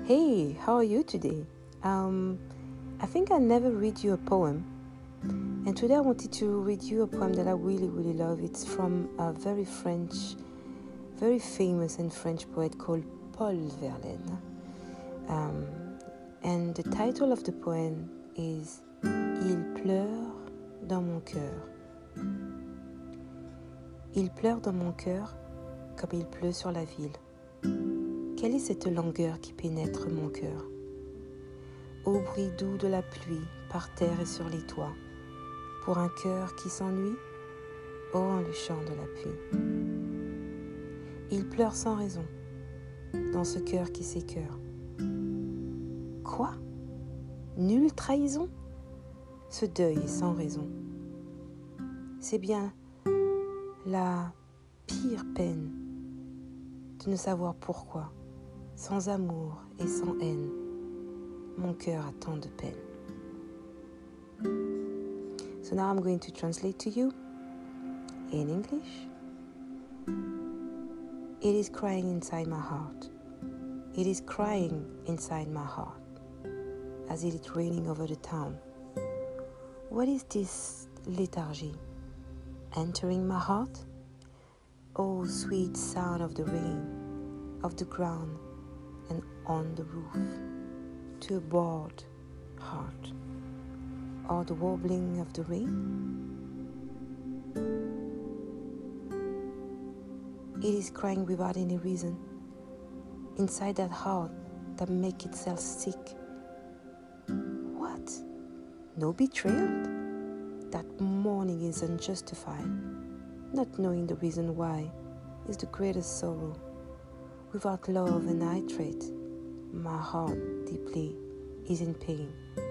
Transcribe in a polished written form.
Hey, how are you today? I think I never read you a poem, and today I wanted to read you a poem that I really love. It's from a very famous and French poet called Paul Verlaine. And the title of the poem is Il pleure dans mon cœur. Il pleure dans mon cœur comme il pleut sur la ville. Quelle est cette langueur qui pénètre mon cœur? Au bruit doux de la pluie par terre et sur les toits, pour un cœur qui s'ennuie, oh le chant de la pluie. Il pleure sans raison, dans ce cœur qui s'écœure. Quoi? Nulle trahison? Ce deuil est sans raison. C'est bien la pire peine de ne savoir pourquoi, sans amour et sans haine, mon cœur a tant de peine. So now I'm going to translate to you in English. It is crying inside my heart. It is crying inside my heart, as it is raining over the town. What is this lethargy entering my heart? Oh, sweet sound of the rain, of the ground, and on the roof, to a bored heart, or the warbling of the rain? It is crying without any reason, inside that heart that makes itself sick. What? No betrayal? That mourning is unjustified. Not knowing the reason why is the greatest sorrow. Without love and hatred, my heart deeply is in pain.